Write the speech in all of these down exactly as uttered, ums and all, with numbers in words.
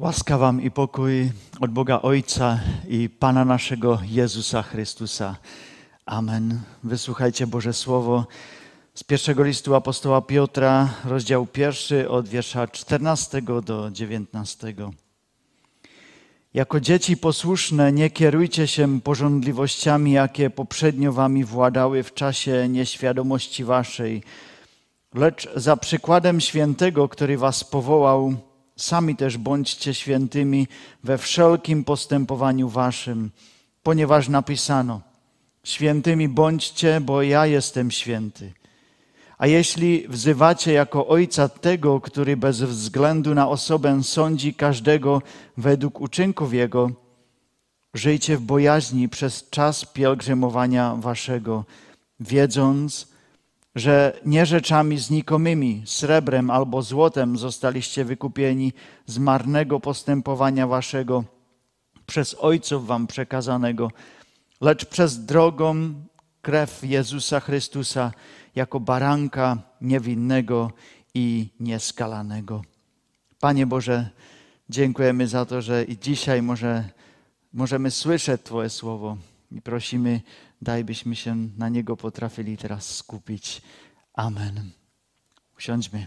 Łaska wam i pokój od Boga Ojca i Pana naszego Jezusa Chrystusa. Amen. Wysłuchajcie Boże Słowo z pierwszego listu apostoła Piotra, rozdział pierwszy od wiersza czternastego do dziewiętnastego. Jako dzieci posłuszne nie kierujcie się pożądliwościami, jakie poprzednio wami władały w czasie nieświadomości waszej, lecz za przykładem świętego, który was powołał, sami też bądźcie świętymi we wszelkim postępowaniu waszym, ponieważ napisano: świętymi bądźcie, bo ja jestem święty. A jeśli wzywacie jako Ojca tego, który bez względu na osobę sądzi każdego według uczynków Jego, żyjcie w bojaźni przez czas pielgrzymowania waszego, wiedząc, że nie rzeczami znikomymi, srebrem albo złotem zostaliście wykupieni z marnego postępowania waszego przez ojców wam przekazanego, lecz przez drogą krew Jezusa Chrystusa jako baranka niewinnego i nieskalanego. Panie Boże, dziękujemy za to, że i dzisiaj może, możemy słyszeć Twoje słowo i prosimy, daj, byśmy się na niego potrafili teraz skupić. Amen. Usiądźmy.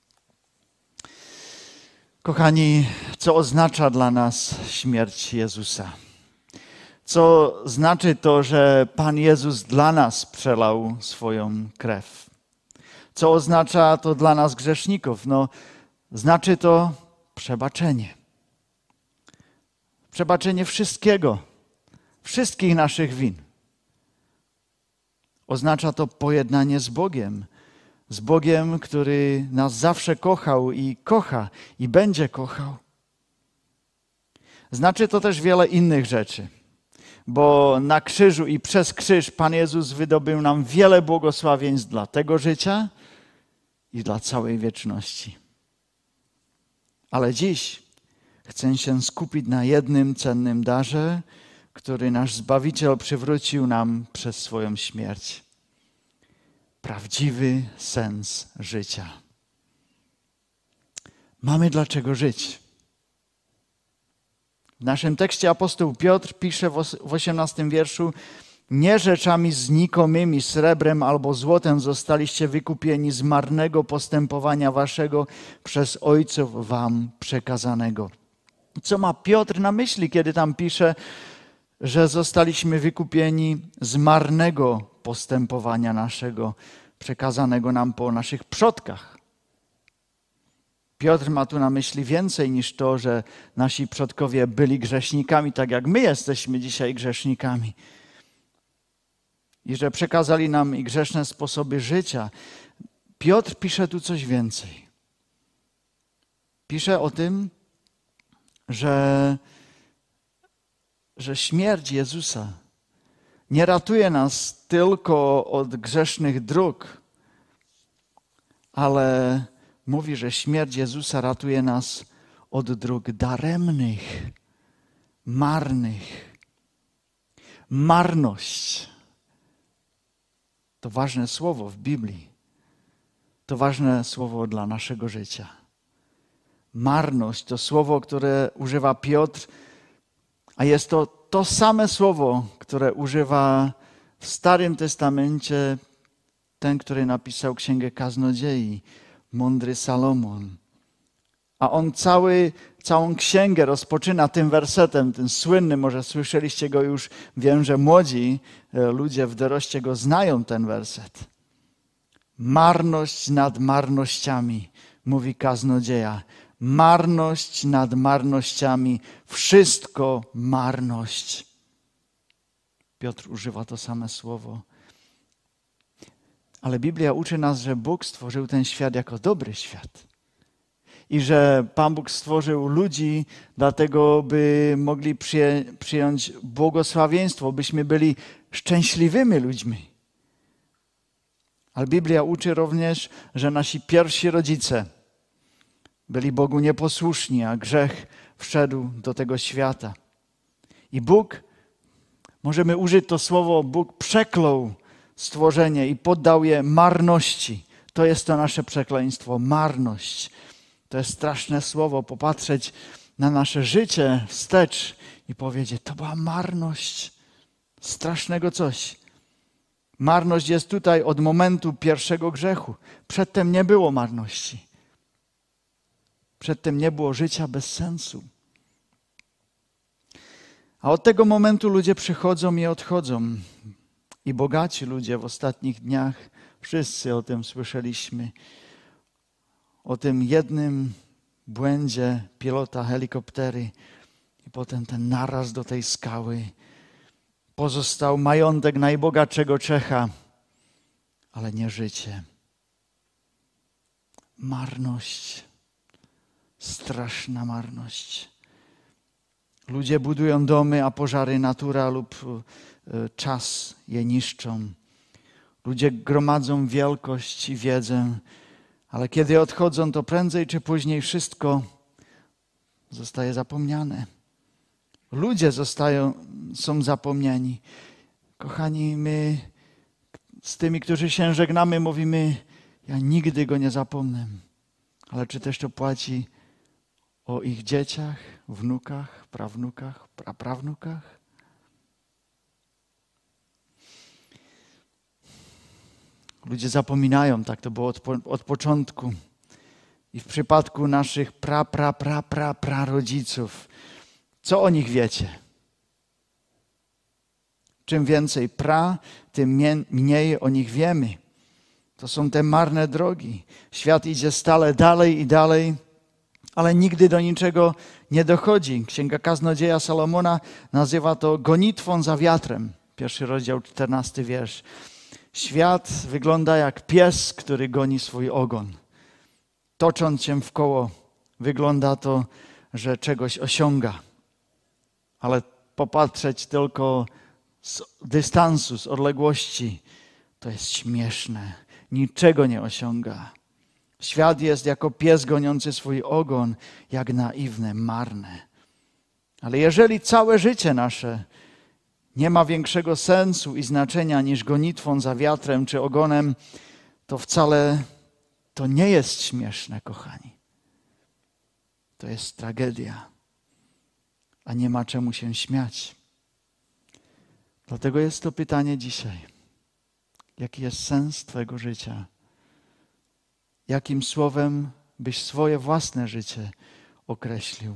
Kochani, co oznacza dla nas śmierć Jezusa? Co znaczy to, że Pan Jezus dla nas przelał swoją krew? Co oznacza to dla nas grzeszników? No, znaczy to przebaczenie. Przebaczenie wszystkiego, wszystkich naszych win. Oznacza to pojednanie z Bogiem. Z Bogiem, który nas zawsze kochał i kocha i będzie kochał. Znaczy to też wiele innych rzeczy. Bo na krzyżu i przez krzyż Pan Jezus wydobył nam wiele błogosławieństw dla tego życia i dla całej wieczności. Ale dziś chcę się skupić na jednym cennym darze, który nasz Zbawiciel przywrócił nam przez swoją śmierć. Prawdziwy sens życia. Mamy dlaczego żyć. W naszym tekście apostoł Piotr pisze w osiemnastym wierszu: nie rzeczami znikomymi, srebrem albo złotem zostaliście wykupieni z marnego postępowania waszego przez ojców wam przekazanego. Co ma Piotr na myśli, kiedy tam pisze, że zostaliśmy wykupieni z marnego postępowania naszego, przekazanego nam po naszych przodkach? Piotr ma tu na myśli więcej niż to, że nasi przodkowie byli grzesznikami, tak jak my jesteśmy dzisiaj grzesznikami. I że przekazali nam i grzeszne sposoby życia. Piotr pisze tu coś więcej. Pisze o tym, że, że śmierć Jezusa nie ratuje nas tylko od grzesznych dróg, ale mówi, że śmierć Jezusa ratuje nas od dróg daremnych, marnych. Marność to ważne słowo w Biblii. To ważne słowo dla naszego życia. Marność to słowo, które używa Piotr, a jest to to same słowo, które używa w Starym Testamencie ten, który napisał Księgę Kaznodziei, mądry Salomon. A on cały, całą księgę rozpoczyna tym wersetem, tym słynnym, może słyszeliście go już, wiem, że młodzi ludzie w doroście go znają, ten werset. Marność nad marnościami, mówi kaznodzieja. Marność nad marnościami, wszystko marność. Piotr używa to same słowo. Ale Biblia uczy nas, że Bóg stworzył ten świat jako dobry świat. I że Pan Bóg stworzył ludzi dlatego, by mogli przyję, przyjąć błogosławieństwo, byśmy byli szczęśliwymi ludźmi. Ale Biblia uczy również, że nasi pierwsi rodzice byli Bogu nieposłuszni, a grzech wszedł do tego świata. I Bóg, możemy użyć to słowo, Bóg przeklął stworzenie i poddał je marności. To jest to nasze przekleństwo, marność. To jest straszne słowo, popatrzeć na nasze życie wstecz i powiedzieć, to była marność strasznego coś. Marność jest tutaj od momentu pierwszego grzechu. Przedtem nie było marności. Przedtem nie było życia bez sensu. A od tego momentu ludzie przychodzą i odchodzą. I bogaci ludzie w ostatnich dniach, wszyscy o tym słyszeliśmy, o tym jednym błędzie pilota helikoptery i potem ten naraz do tej skały. Pozostał majątek najbogatszego Czecha, ale nie życie. Marność, straszna marność. Ludzie budują domy, a pożary natura lub czas je niszczą. Ludzie gromadzą wielkość i wiedzę, ale kiedy odchodzą, to prędzej czy później wszystko zostaje zapomniane. Ludzie zostają, są zapomniani. Kochani, my z tymi, którzy się żegnamy, mówimy, ja nigdy go nie zapomnę. Ale czy też to płaci o ich dzieciach, wnukach, prawnukach, praprawnukach? Ludzie zapominają, tak to było od, od początku. I w przypadku naszych pra, pra, pra, pra, pra rodziców, co o nich wiecie? Czym więcej pra, tym mniej o nich wiemy. To są te marne drogi. Świat idzie stale dalej i dalej, ale nigdy do niczego nie dochodzi. Księga Kaznodzieja Salomona nazywa to gonitwą za wiatrem. Pierwszy rozdział, czternasty wiersz. Świat wygląda jak pies, który goni swój ogon. Tocząc się w koło, wygląda to, że czegoś osiąga. Ale popatrzeć tylko z dystansu, z odległości, to jest śmieszne. Niczego nie osiąga. Świat jest jako pies goniący swój ogon, jak naiwne, marne. Ale jeżeli całe życie nasze nie ma większego sensu i znaczenia niż gonitwą za wiatrem czy ogonem, to wcale to nie jest śmieszne, kochani. To jest tragedia, a nie ma czemu się śmiać. Dlatego jest to pytanie dzisiaj. Jaki jest sens Twojego życia? Jakim słowem byś swoje własne życie określił?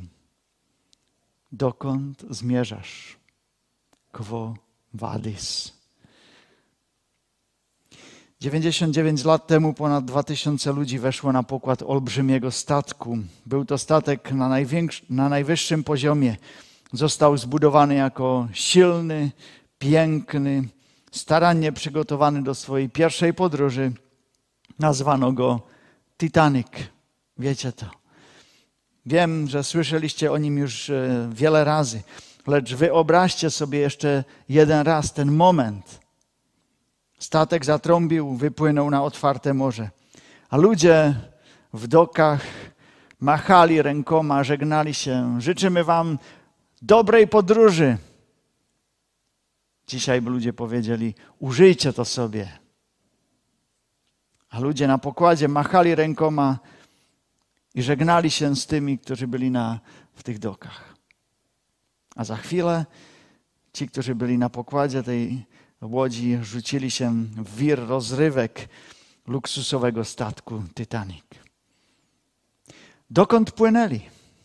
Dokąd zmierzasz? Quo vadis? dziewięćdziesiąt dziewięć lat temu ponad dwa tysiące ludzi weszło na pokład olbrzymiego statku. Był to statek na, na najwyższym poziomie. Został zbudowany jako silny, piękny, starannie przygotowany do swojej pierwszej podróży. Nazwano go Titanic. Wiecie to. Wiem, że słyszeliście o nim już wiele razy, lecz wyobraźcie sobie jeszcze jeden raz ten moment. Statek zatrąbił, wypłynął na otwarte morze, a ludzie w dokach machali rękoma, żegnali się. Życzymy wam dobrej podróży. Dzisiaj by ludzie powiedzieli, użyjcie to sobie. A ludzie na pokładzie machali rękoma i żegnali się z tymi, którzy byli na, w tych dokach. A za chwilę ci, którzy byli na pokładzie tej łodzi, rzucili się w wir rozrywek luksusowego statku Titanic. Dokąd płynęli?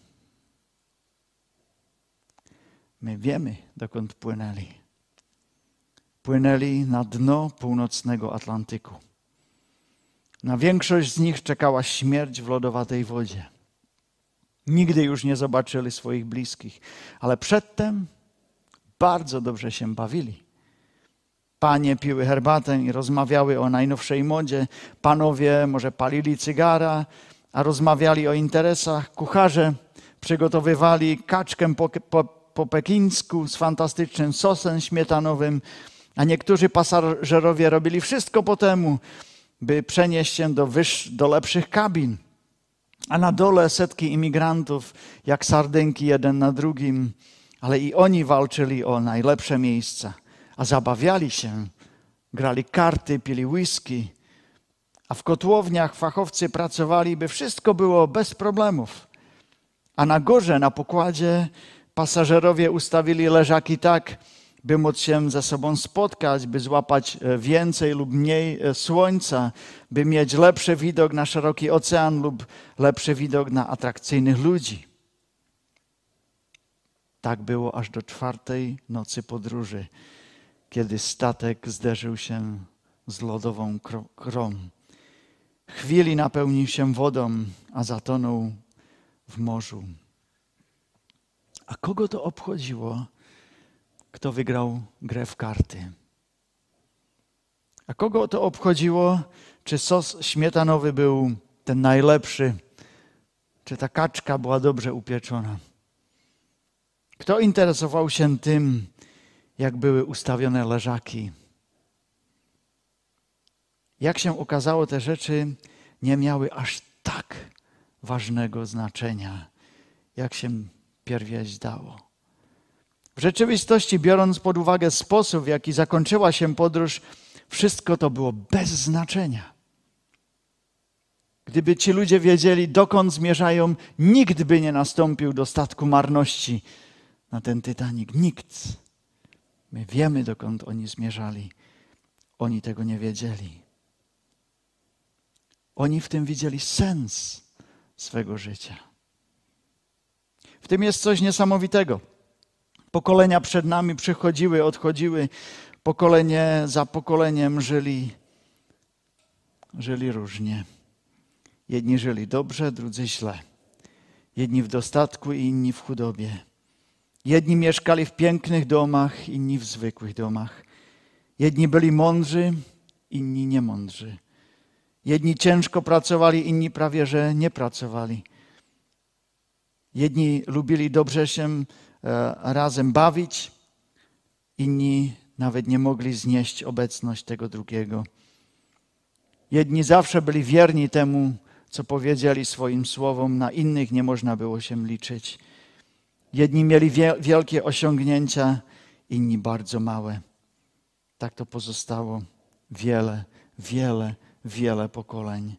My wiemy, dokąd płynęli. Płynęli na dno północnego Atlantyku. Na większość z nich czekała śmierć w lodowatej wodzie. Nigdy już nie zobaczyli swoich bliskich, ale przedtem bardzo dobrze się bawili. Panie piły herbatę i rozmawiały o najnowszej modzie. Panowie może palili cygara, a rozmawiali o interesach. Kucharze przygotowywali kaczkę po, po, po pekińsku z fantastycznym sosem śmietanowym, a niektórzy pasażerowie robili wszystko po temu, by przenieść się do, wyż, do lepszych kabin. A na dole setki imigrantów, jak sardynki jeden na drugim, ale i oni walczyli o najlepsze miejsca. A zabawiali się, grali karty, pili whisky, a w kotłowniach fachowcy pracowali, by wszystko było bez problemów. A na górze, na pokładzie pasażerowie ustawili leżaki tak, by móc się ze sobą spotkać, by złapać więcej lub mniej słońca, by mieć lepszy widok na szeroki ocean lub lepszy widok na atrakcyjnych ludzi. Tak było aż do czwartej nocy podróży, kiedy statek zderzył się z lodową krą. Chwili napełnił się wodą, a zatonął w morzu. A kogo to obchodziło, kto wygrał grę w karty? A kogo to obchodziło, czy sos śmietanowy był ten najlepszy, czy ta kaczka była dobrze upieczona? Kto interesował się tym, jak były ustawione leżaki? Jak się okazało, te rzeczy nie miały aż tak ważnego znaczenia, jak się pierwej zdało. W rzeczywistości, biorąc pod uwagę sposób, w jaki zakończyła się podróż, wszystko to było bez znaczenia. Gdyby ci ludzie wiedzieli, dokąd zmierzają, nikt by nie nastąpił do statku marności na ten Titanic. Nikt. My wiemy, dokąd oni zmierzali. Oni tego nie wiedzieli. Oni w tym widzieli sens swego życia. W tym jest coś niesamowitego. Pokolenia przed nami przychodziły, odchodziły. Pokolenie za pokoleniem żyli, żyli różnie. Jedni żyli dobrze, drudzy źle. Jedni w dostatku, inni w chudobie. Jedni mieszkali w pięknych domach, inni w zwykłych domach. Jedni byli mądrzy, inni niemądrzy. Jedni ciężko pracowali, inni prawie że nie pracowali. Jedni lubili dobrze się razem bawić, inni nawet nie mogli znieść obecność tego drugiego. Jedni zawsze byli wierni temu, co powiedzieli swoim słowom, na innych nie można było się liczyć. Jedni mieli wielkie osiągnięcia, inni bardzo małe. Tak to pozostało wiele, wiele, wiele pokoleń.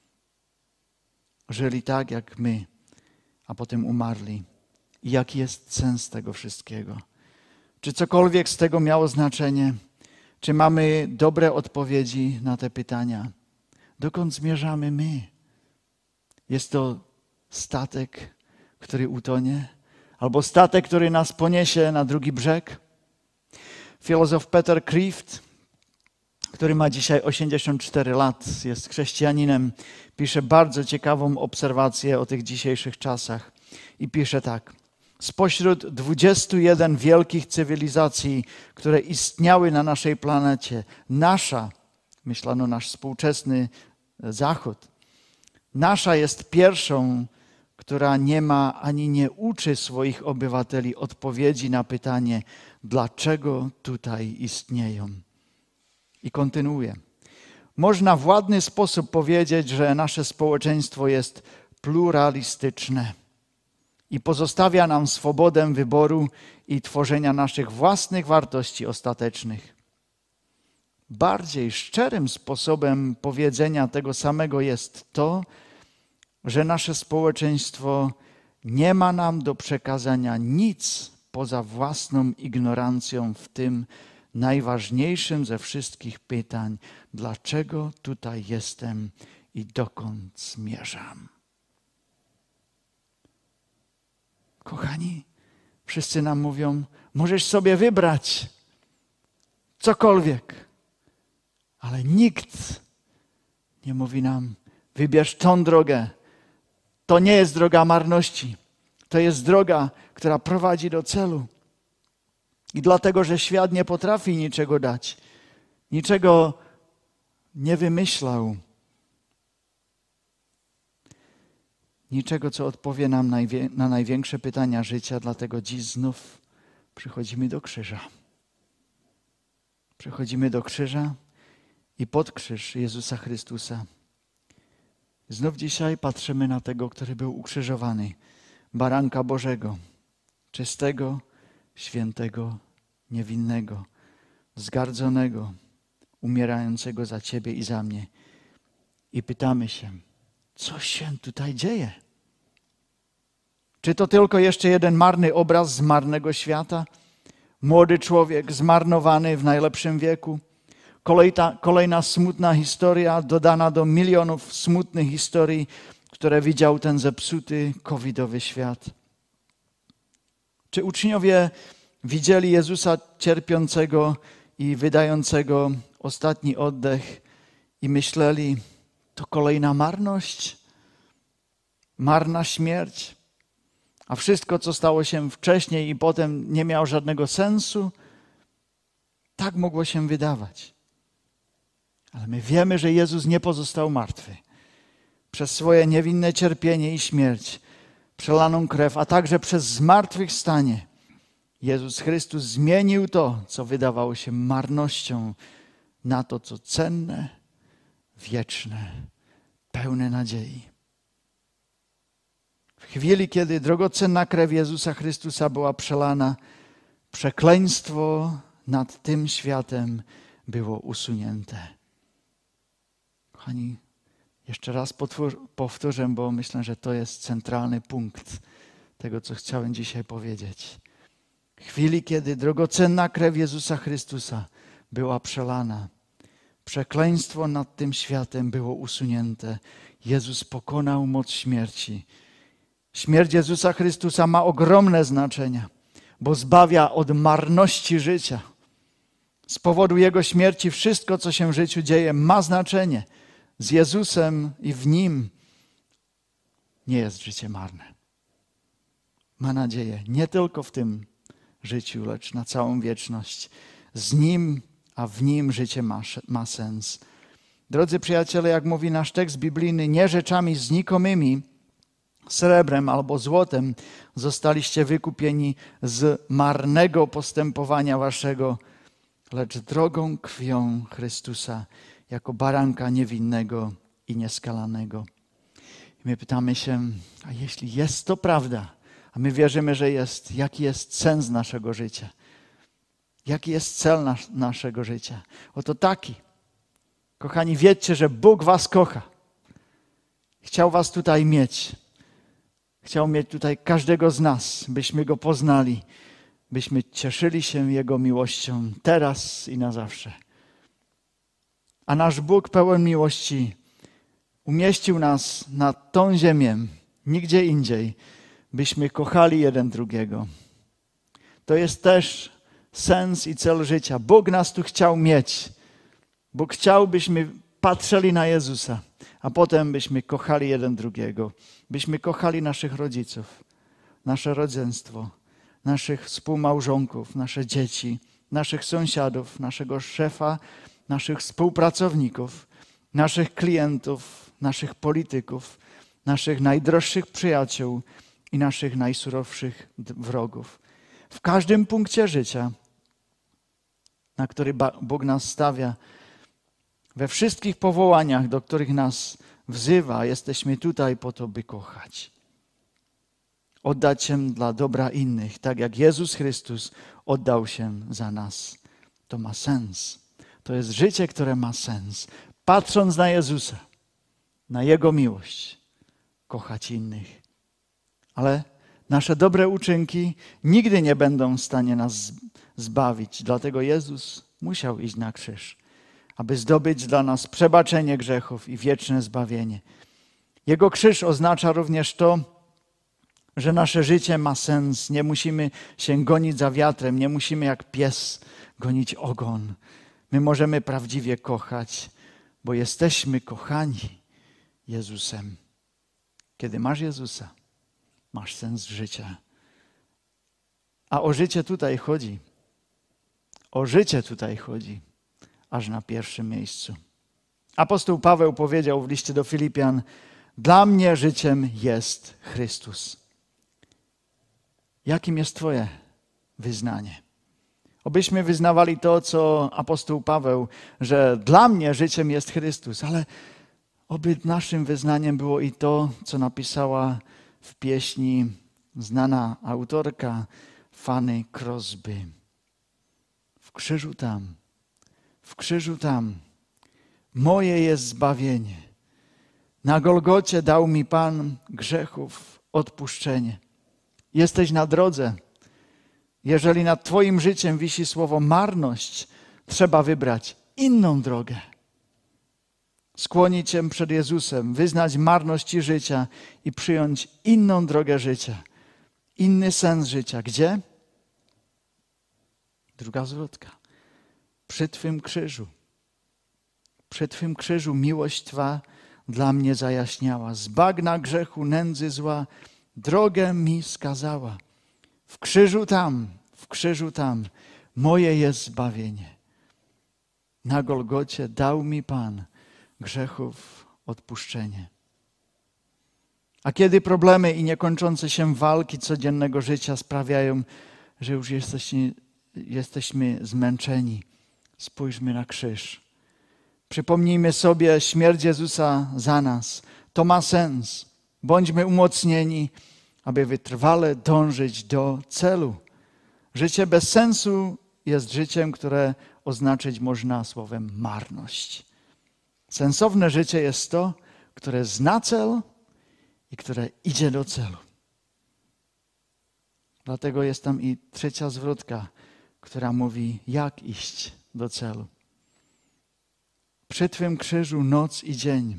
Żyli tak jak my, a potem umarli. I jaki jest sens tego wszystkiego? Czy cokolwiek z tego miało znaczenie? Czy mamy dobre odpowiedzi na te pytania? Dokąd zmierzamy my? Jest to statek, który utonie? Albo statek, który nas poniesie na drugi brzeg? Filozof Peter Kreeft, który ma dzisiaj osiemdziesiąt cztery lat, jest chrześcijaninem, pisze bardzo ciekawą obserwację o tych dzisiejszych czasach. I pisze tak. Spośród dwudziestu jeden wielkich cywilizacji, które istniały na naszej planecie, nasza, myślano nasz współczesny Zachód, nasza jest pierwszą, która nie ma ani nie uczy swoich obywateli odpowiedzi na pytanie, dlaczego tutaj istnieją. I kontynuuje. Można w ładny sposób powiedzieć, że nasze społeczeństwo jest pluralistyczne i pozostawia nam swobodę wyboru i tworzenia naszych własnych wartości ostatecznych. Bardziej szczerym sposobem powiedzenia tego samego jest to, że nasze społeczeństwo nie ma nam do przekazania nic poza własną ignorancją w tym najważniejszym ze wszystkich pytań, dlaczego tutaj jestem i dokąd zmierzam. Kochani, wszyscy nam mówią, możesz sobie wybrać cokolwiek, ale nikt nie mówi nam, wybierz tą drogę. To nie jest droga marności. To jest droga, która prowadzi do celu. I dlatego, że świat nie potrafi niczego dać, niczego nie wymyślał, niczego, co odpowie nam na największe pytania życia, dlatego dziś znów przychodzimy do krzyża. Przychodzimy do krzyża i pod krzyż Jezusa Chrystusa. Znów dzisiaj patrzymy na tego, który był ukrzyżowany, baranka Bożego, czystego, świętego, niewinnego, zgardzonego, umierającego za Ciebie i za mnie. I pytamy się, co się tutaj dzieje? Czy to tylko jeszcze jeden marny obraz z marnego świata? Młody człowiek zmarnowany w najlepszym wieku? Kolejna, kolejna smutna historia dodana do milionów smutnych historii, które widział ten zepsuty covidowy świat. Czy uczniowie widzieli Jezusa cierpiącego i wydającego ostatni oddech i myśleli, to kolejna marność, marna śmierć, a wszystko, co stało się wcześniej i potem, nie miało żadnego sensu? Tak mogło się wydawać. Ale my wiemy, że Jezus nie pozostał martwy. Przez swoje niewinne cierpienie i śmierć, przelaną krew, a także przez zmartwychwstanie, Jezus Chrystus zmienił to, co wydawało się marnością, na to, co cenne, wieczne, pełne nadziei. W chwili, kiedy drogocenna krew Jezusa Chrystusa była przelana, przekleństwo nad tym światem było usunięte. Kochani, jeszcze raz powtórzę, bo myślę, że to jest centralny punkt tego, co chciałem dzisiaj powiedzieć. W chwili, kiedy drogocenna krew Jezusa Chrystusa była przelana, przekleństwo nad tym światem było usunięte. Jezus pokonał moc śmierci. Śmierć Jezusa Chrystusa ma ogromne znaczenie, bo zbawia od marności życia. Z powodu Jego śmierci wszystko, co się w życiu dzieje, ma znaczenie. Z Jezusem i w Nim nie jest życie marne. Ma nadzieję nie tylko w tym życiu, lecz na całą wieczność. Z Nim, a w Nim życie ma, ma sens. Drodzy przyjaciele, jak mówi nasz tekst biblijny, nie rzeczami znikomymi, srebrem albo złotem zostaliście wykupieni z marnego postępowania waszego, lecz drogą krwią Chrystusa, jako baranka niewinnego i nieskalanego. I my pytamy się, a jeśli jest to prawda, a my wierzymy, że jest, jaki jest sens naszego życia? Jaki jest cel nas, naszego życia? Oto taki. Kochani, wiedzcie, że Bóg was kocha. Chciał was tutaj mieć. Chciał mieć tutaj każdego z nas, byśmy Go poznali, byśmy cieszyli się Jego miłością teraz i na zawsze. A nasz Bóg pełen miłości umieścił nas na tą ziemię, nigdzie indziej, byśmy kochali jeden drugiego. To jest też sens i cel życia. Bóg nas tu chciał mieć. Bóg chciał, byśmy patrzyli na Jezusa, a potem byśmy kochali jeden drugiego. Byśmy kochali naszych rodziców, nasze rodzeństwo, naszych współmałżonków, nasze dzieci, naszych sąsiadów, naszego szefa, naszych współpracowników, naszych klientów, naszych polityków, naszych najdroższych przyjaciół i naszych najsurowszych wrogów. W każdym punkcie życia, na który Bóg nas stawia, we wszystkich powołaniach, do których nas wzywa, jesteśmy tutaj po to, by kochać. Oddać się dla dobra innych, tak jak Jezus Chrystus oddał się za nas. To ma sens. To jest życie, które ma sens. Patrząc na Jezusa, na Jego miłość, kochać innych. Ale nasze dobre uczynki nigdy nie będą w stanie nas zbawić. Dlatego Jezus musiał iść na krzyż, aby zdobyć dla nas przebaczenie grzechów i wieczne zbawienie. Jego krzyż oznacza również to, że nasze życie ma sens. Nie musimy się gonić za wiatrem, nie musimy jak pies gonić ogon. My możemy prawdziwie kochać, bo jesteśmy kochani Jezusem. Kiedy masz Jezusa, masz sens życia. A o życie tutaj chodzi. O życie tutaj chodzi. Aż na pierwszym miejscu. Apostoł Paweł powiedział w liście do Filipian: dla mnie życiem jest Chrystus. Jakim jest Twoje wyznanie? Obyśmy wyznawali to, co apostoł Paweł, że dla mnie życiem jest Chrystus, ale oby naszym wyznaniem było i to, co napisała w pieśni znana autorka Fanny Crosby. W krzyżu tam, w krzyżu tam, moje jest zbawienie. Na Golgocie dał mi Pan grzechów odpuszczenie. Jesteś na drodze. Jeżeli nad twoim życiem wisi słowo marność, trzeba wybrać inną drogę. Skłonić się przed Jezusem, wyznać marność życia i przyjąć inną drogę życia. Inny sens życia. Gdzie? Druga zwrotka. Przy Twym krzyżu. Przy Twym krzyżu miłość Twa dla mnie zajaśniała. Z bagna grzechu, nędzy zła drogę mi skazała. W krzyżu tam, w krzyżu tam moje jest zbawienie. Na Golgocie dał mi Pan grzechów odpuszczenie. A kiedy problemy i niekończące się walki codziennego życia sprawiają, że już jesteśmy, jesteśmy zmęczeni, spójrzmy na krzyż. Przypomnijmy sobie śmierć Jezusa za nas. To ma sens. Bądźmy umocnieni, aby wytrwale dążyć do celu. Życie bez sensu jest życiem, które oznaczyć można słowem marność. Sensowne życie jest to, które zna cel i które idzie do celu. Dlatego jest tam i trzecia zwrotka, która mówi, jak iść do celu. Przy Twym krzyżu noc i dzień,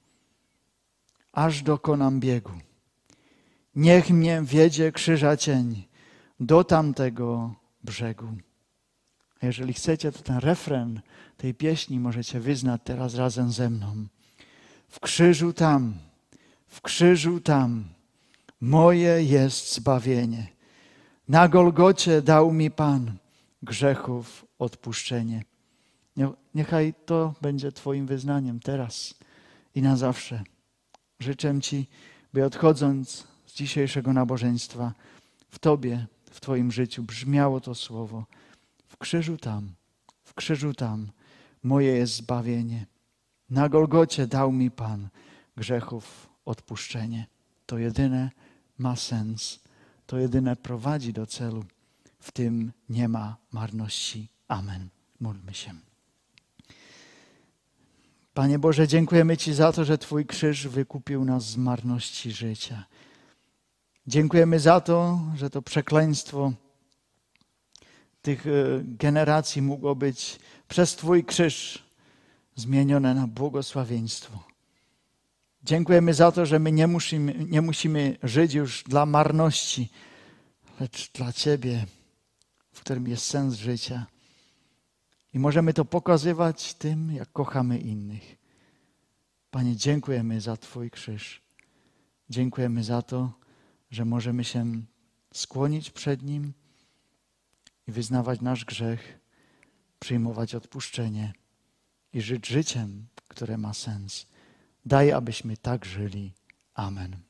aż dokonam biegu. Niech mnie wiedzie krzyża cień do tamtego brzegu. A jeżeli chcecie, to ten refren tej pieśni możecie wyznać teraz razem ze mną. W krzyżu tam, w krzyżu tam, moje jest zbawienie. Na Golgocie dał mi Pan grzechów odpuszczenie. Niechaj to będzie Twoim wyznaniem teraz i na zawsze. Życzę Ci, by odchodząc z dzisiejszego nabożeństwa, w Tobie, w Twoim życiu brzmiało to słowo. W krzyżu tam, w krzyżu tam, moje jest zbawienie. Na Golgocie dał mi Pan grzechów odpuszczenie. To jedyne ma sens. To jedyne prowadzi do celu. W tym nie ma marności. Amen. Módlmy się. Panie Boże, dziękujemy Ci za to, że Twój krzyż wykupił nas z marności życia. Dziękujemy za to, że to przekleństwo tych generacji mogło być przez Twój krzyż zmienione na błogosławieństwo. Dziękujemy za to, że my nie musimy, nie musimy żyć już dla marności, lecz dla Ciebie, w którym jest sens życia. I możemy to pokazywać tym, jak kochamy innych. Panie, dziękujemy za Twój krzyż. Dziękujemy za to, że możemy się skłonić przed Nim i wyznawać nasz grzech, przyjmować odpuszczenie i żyć życiem, które ma sens. Daj, abyśmy tak żyli. Amen.